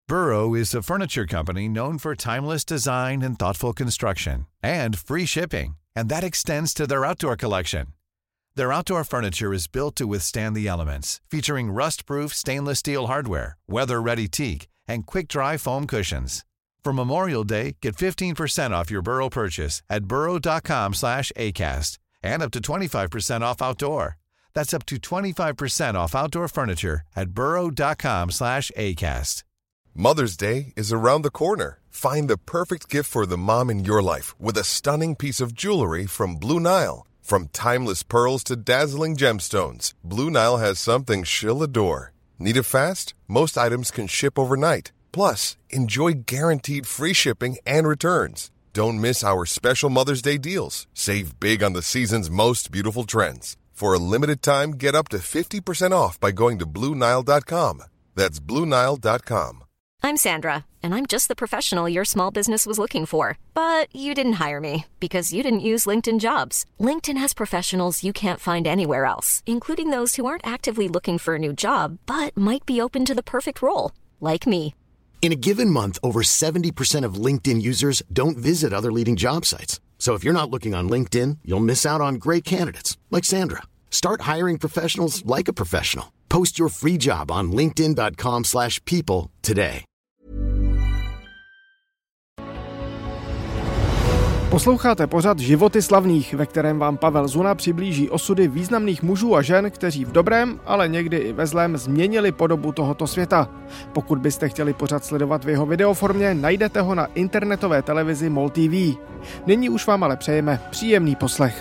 Burrow is a furniture company known for timeless design and thoughtful construction, and free shipping, and that extends to their outdoor collection. Their outdoor furniture is built to withstand the elements, featuring rust-proof stainless steel hardware, weather-ready teak, and quick-dry foam cushions. For Memorial Day, get 15% off your Burrow purchase at burrow.com/acast, and up to 25% off outdoor. That's up to 25% off outdoor furniture at burrow.com/acast. Mother's Day is around the corner. Find the perfect gift for the mom in your life with a stunning piece of jewelry from Blue Nile. From timeless pearls to dazzling gemstones, Blue Nile has something she'll adore. Need it fast? Most items can ship overnight. Plus, enjoy guaranteed free shipping and returns. Don't miss our special Mother's Day deals. Save big on the season's most beautiful trends. For a limited time, get up to 50% off by going to BlueNile.com. That's BlueNile.com. I'm Sandra, and I'm just the professional your small business was looking for. But you didn't hire me because you didn't use LinkedIn Jobs. LinkedIn has professionals you can't find anywhere else, including those who aren't actively looking for a new job, but might be open to the perfect role, like me. In a given month, over 70% of LinkedIn users don't visit other leading job sites. So if you're not looking on LinkedIn, you'll miss out on great candidates like Sandra. Start hiring professionals like a professional. Post your free job on linkedin.com/people today. Posloucháte pořad Životy slavných, ve kterém vám Pavel Zuna přiblíží osudy významných mužů a žen, kteří v dobrém, ale někdy i ve zlém změnili podobu tohoto světa. Pokud byste chtěli pořad sledovat v jeho videoformě, najdete ho na internetové televizi MOL TV. Nyní už vám ale přejeme příjemný poslech.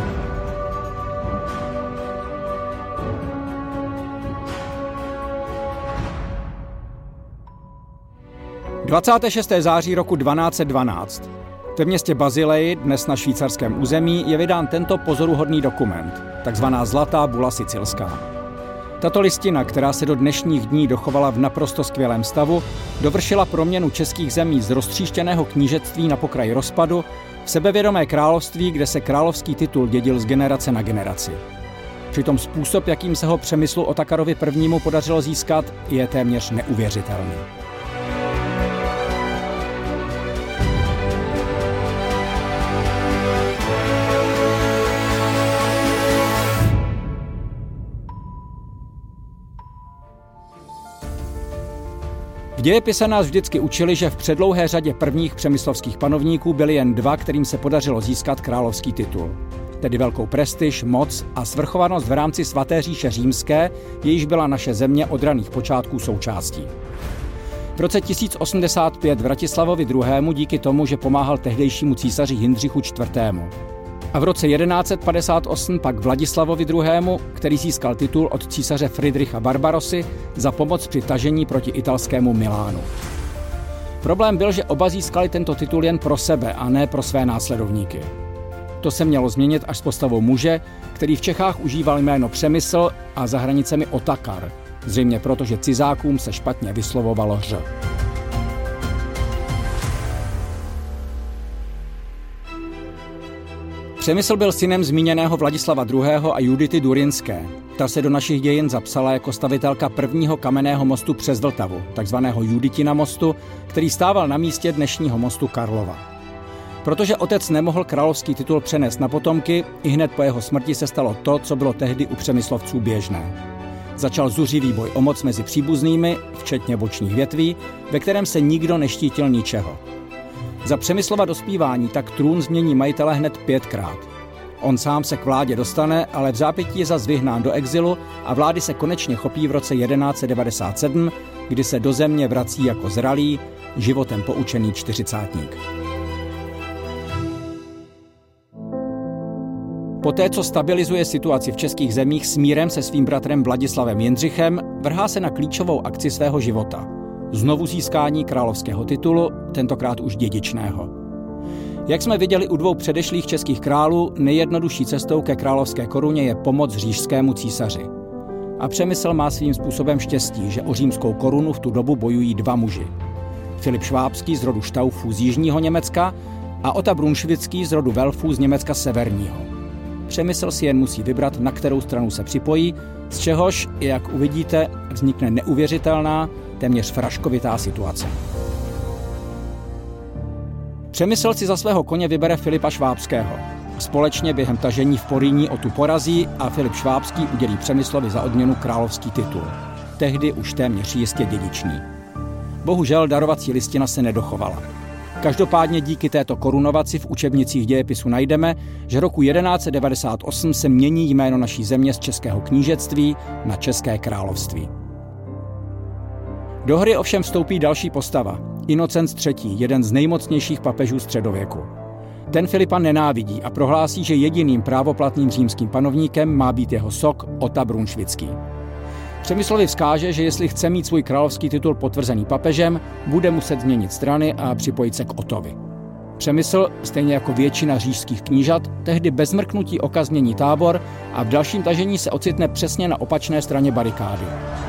26. září roku 1212. Ve městě Bazileji, dnes na švýcarském území, je vydán tento pozoruhodný dokument, takzvaná Zlatá bula sicilská. Tato listina, která se do dnešních dní dochovala v naprosto skvělém stavu, dovršila proměnu českých zemí z roztříštěného knížectví na pokraj rozpadu v sebevědomé království, kde se královský titul dědil z generace na generaci. Přitom způsob, jakým se ho Přemyslu Otakarovi I. podařilo získat, je téměř neuvěřitelný. V dějepise nás vždycky učili, že v předlouhé řadě prvních přemyslovských panovníků byli jen dva, kterým se podařilo získat královský titul. Tedy velkou prestiž, moc a svrchovanost v rámci svaté říše římské, jejíž byla naše země od raných počátků součástí. V roce 1085 Vratislavovi II. Díky tomu, že pomáhal tehdejšímu císaři Jindřichu IV. A v roce 1158 pak Vladislavovi II., který získal titul od císaře Fridricha Barbarossy za pomoc při tažení proti italskému Milánu. Problém byl, že oba získali tento titul jen pro sebe a ne pro své následovníky. To se mělo změnit až s postavou muže, který v Čechách užíval jméno Přemysl a za hranicemi Otakar, zřejmě proto, že cizákům se špatně vyslovovalo ř. Přemysl byl synem zmíněného Vladislava II. A Judity Durynské. Ta se do našich dějin zapsala jako stavitelka prvního kamenného mostu přes Vltavu, takzvaného Juditina mostu, který stával na místě dnešního mostu Karlova. Protože otec nemohl královský titul přenést na potomky, ihned po jeho smrti se stalo to, co bylo tehdy u Přemyslovců běžné. Začal zuřivý boj o moc mezi příbuznými, včetně bočních větví, ve kterém se nikdo neštítil ničeho. Za Přemyslova dospívání tak trůn změní majitele hned 5krát. On sám se k vládě dostane, ale v zápětí je zas vyhnán do exilu a vlády se konečně chopí v roce 1197, kdy se do země vrací jako zralý, životem poučený čtyřicátník. Poté, co stabilizuje situaci v českých zemích s mírem se svým bratrem Vladislavem Jindřichem, vrhá se na klíčovou akci svého života. Znovu získání královského titulu, tentokrát už dědičného. Jak jsme viděli u dvou předešlých českých králů, nejjednodušší cestou ke královské koruně je pomoc říšskému císaři. A Přemysl má svým způsobem štěstí, že o římskou korunu v tu dobu bojují dva muži. Filip Švábský z rodu Štaufů z jižního Německa a Ota Brunšvický z rodu Velfů z Německa severního. Přemysl si jen musí vybrat, na kterou stranu se připojí, z čehož, jak uvidíte, vznikne neuvěřitelná, téměř fraškovitá situace. Přemysl si za svého koně vybere Filipa Švábského. Společně během tažení v Porýní o tu porazí a Filip Švábský udělí Přemyslovi za odměnu královský titul. Tehdy už téměř jistě dědičný. Bohužel darovací listina se nedochovala. Každopádně díky této korunovaci v učebnicích dějepisu najdeme, že roku 1198 se mění jméno naší země z Českého knížectví na České království. Do hry ovšem vstoupí další postava, Inocenc III., jeden z nejmocnějších papežů středověku. Ten Filipa nenávidí a prohlásí, že jediným právoplatným římským panovníkem má být jeho sok Ota Brunšvický. Přemyslovi vzkáže, že jestli chce mít svůj královský titul potvrzený papežem, bude muset změnit strany a připojit se k Otovi. Přemysl, stejně jako většina říšských knížat, tehdy bez mrknutí oka změní tábor a v dalším tažení se ocitne přesně na opačné straně barikády.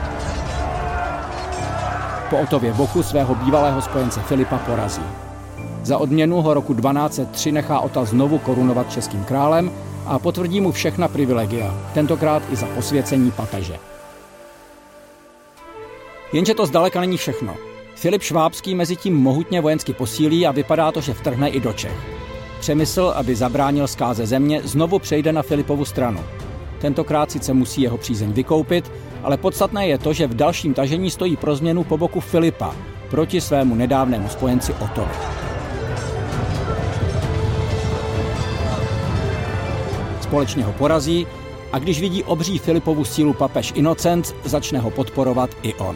Po Otově boku svého bývalého spojence Filipa porazí. Za odměnu ho roku 1203 nechá Ota znovu korunovat českým králem a potvrdí mu všechna privilegia, tentokrát i za posvěcení papeže. Jenže to zdaleka není všechno. Filip Švábský mezi tím mohutně vojensky posílí a vypadá to, že vtrhne i do Čech. Přemysl, aby zabránil zkáze země, znovu přejde na Filipovu stranu. Tentokrát sice musí jeho přízeň vykoupit, ale podstatné je to, že v dalším tažení stojí pro změnu po boku Filipa proti svému nedávnému spojenci Otovi. Společně ho porazí a když vidí obří Filipovu sílu papež Inocenc, začne ho podporovat i on.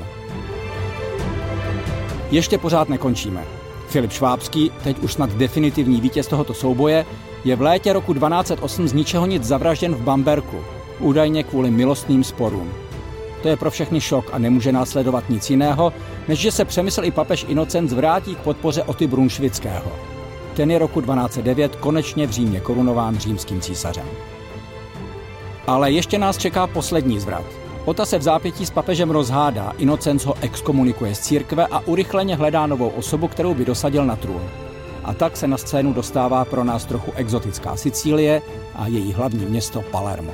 Ještě pořád nekončíme. Filip Švábský, teď už snad definitivní vítěz tohoto souboje, je v létě roku 1208 z ničeho nic zavražděn v Bamberku, údajně kvůli milostným sporům. To je pro všechny šok a nemůže následovat nic jiného, než že se Přemysl i papež Inocenc vrátí k podpoře Oty Brunšvického. Ten je roku 1209 konečně v Římě korunován římským císařem. Ale ještě nás čeká poslední zvrat. Ota se v zápětí s papežem rozhádá, Inocenc ho exkomunikuje z církve a urychleně hledá novou osobu, kterou by dosadil na trůn. A tak se na scénu dostává pro nás trochu exotická Sicílie a její hlavní město Palermo.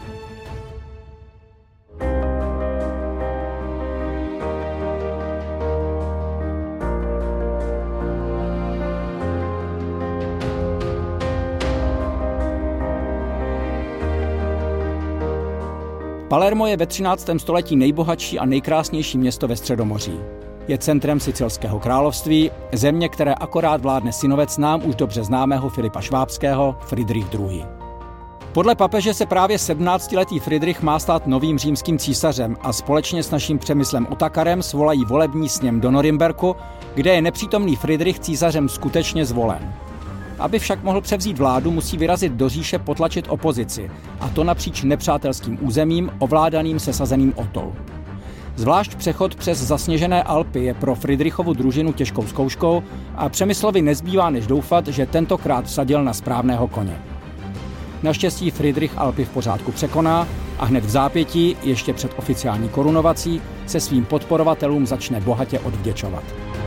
Palermo je ve 13. století nejbohatší a nejkrásnější město ve Středomoří. Je centrem Sicilského království, země, které akorát vládne synovec nám už dobře známého Filipa Švábského, Fridrich II. Podle papeže se právě 17letý Fridrich má stát novým římským císařem a společně s naším Přemyslem Otakarem svolají volební sněm do Norimberku, kde je nepřítomný Fridrich císařem skutečně zvolen. Aby však mohl převzít vládu, musí vyrazit do říše potlačit opozici, a to napříč nepřátelským územím ovládaným sesazeným Otou. Zvlášť přechod přes zasněžené Alpy je pro Fridrichovu družinu těžkou zkouškou a Přemyslovi nezbývá než doufat, že tentokrát vsadil na správného koně. Naštěstí Fridrich Alpy v pořádku překoná a hned v zápětí, ještě před oficiální korunovací, se svým podporovatelům začne bohatě odvděčovat.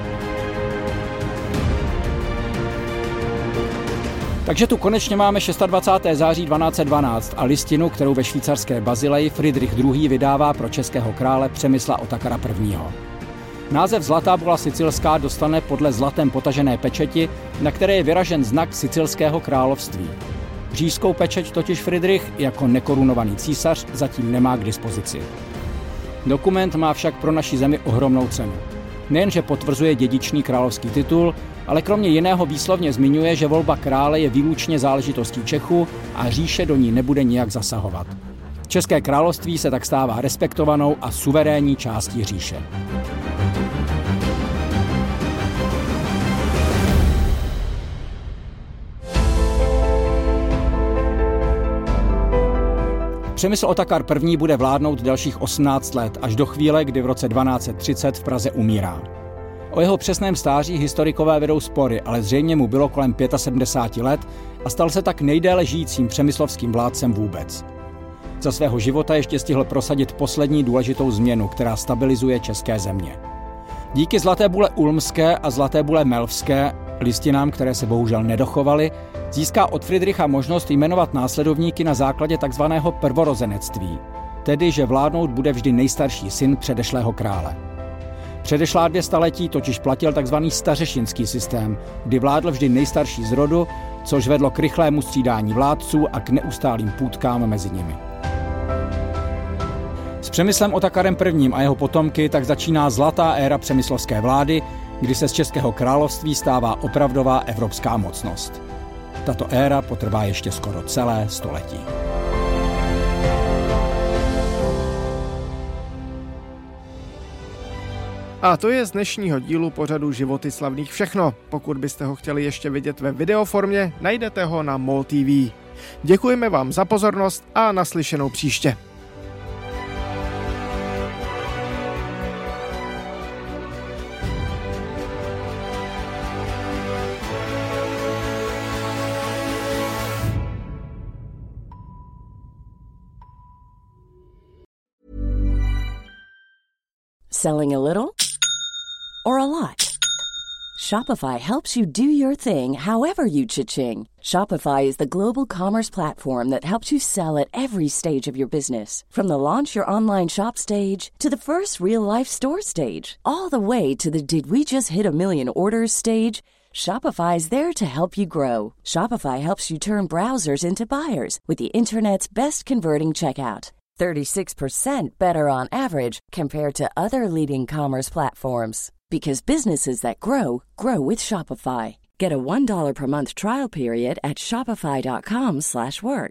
Takže tu konečně máme 26. září 1212 a listinu, kterou ve švýcarské Bazileji Fridrich II. Vydává pro českého krále Přemysla Otakara I. Název Zlatá bula sicilská dostane podle zlatem potažené pečeti, na které je vyražen znak Sicilského království. Říšskou pečeť totiž Fridrich jako nekorunovaný císař zatím nemá k dispozici. Dokument má však pro naši zemi ohromnou cenu. Nejenže potvrzuje dědičný královský titul, ale kromě jiného výslovně zmiňuje, že volba krále je výlučně záležitostí Čechů a říše do ní nebude nijak zasahovat. České království se tak stává respektovanou a suverénní částí říše. Přemysl Otakar I. bude vládnout dalších 18 let, až do chvíle, kdy v roce 1230 v Praze umírá. O jeho přesném stáří historikové vedou spory, ale zřejmě mu bylo kolem 75 let a stal se tak nejdéle žijícím přemyslovským vládcem vůbec. Za svého života ještě stihl prosadit poslední důležitou změnu, která stabilizuje české země. Díky Zlaté bule ulmské a Zlaté bule melvské, listinám, které se bohužel nedochovaly, získá od Fridricha možnost jmenovat následovníky na základě takzvaného prvorozenectví, tedy že vládnout bude vždy nejstarší syn předešlého krále. Předešlá 2 staletí totiž platil tzv. Stařešinský systém, kdy vládl vždy nejstarší z rodu, což vedlo k rychlému střídání vládců a k neustálým půtkám mezi nimi. S Přemyslem Otakarem I. a jeho potomky tak začíná zlatá éra přemyslovské vlády, kdy se z Českého království stává opravdová evropská mocnost. Tato éra potrvá ještě skoro celé století. A to je z dnešního dílu pořadu Životy slavných všechno. Pokud byste ho chtěli ještě vidět ve videoformě, najdete ho na MOL TV. Děkujeme vám za pozornost a naslyšenou příště. Selling a little or a lot? Shopify helps you do your thing however you cha-ching. Shopify is the global commerce platform that helps you sell at every stage of your business. From the launch your online shop stage to the first real-life store stage, all the way to the did we just hit a million orders stage. Shopify is there to help you grow. Shopify helps you turn browsers into buyers with the internet's best converting checkout. 36% better on average compared to other leading commerce platforms. Because businesses that grow, grow with Shopify. Get a $1 per month trial period at shopify.com/work.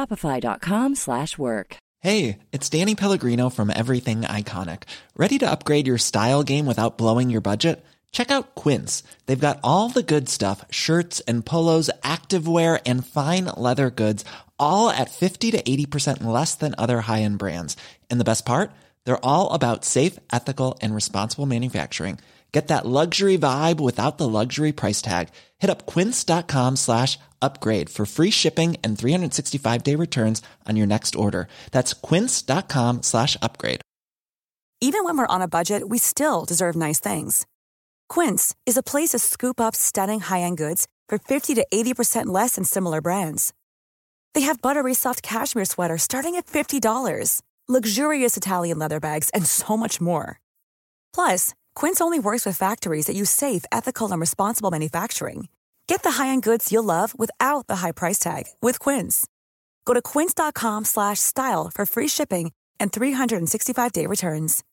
Shopify.com/work. Hey, it's Danny Pellegrino from Everything Iconic. Ready to upgrade your style game without blowing your budget? Check out Quince. They've got all the good stuff, shirts and polos, activewear, and fine leather goods, all at 50 to 80% less than other high-end brands. And the best part? They're all about safe, ethical, and responsible manufacturing. Get that luxury vibe without the luxury price tag. Hit up quince.com/upgrade for free shipping and 365-day returns on your next order. That's quince.com/upgrade. Even when we're on a budget, we still deserve nice things. Quince is a place to scoop up stunning high-end goods for 50 to 80% less than similar brands. They have buttery soft cashmere sweaters starting at $50, luxurious Italian leather bags, and so much more. Plus, Quince only works with factories that use safe, ethical, and responsible manufacturing. Get the high-end goods you'll love without the high price tag with Quince. Go to quince.com/style for free shipping and 365-day returns.